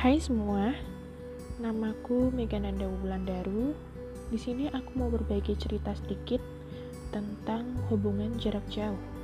Hai semua, namaku Megananda Wulandaru. Di sini aku mau berbagi cerita sedikit tentang hubungan jarak jauh.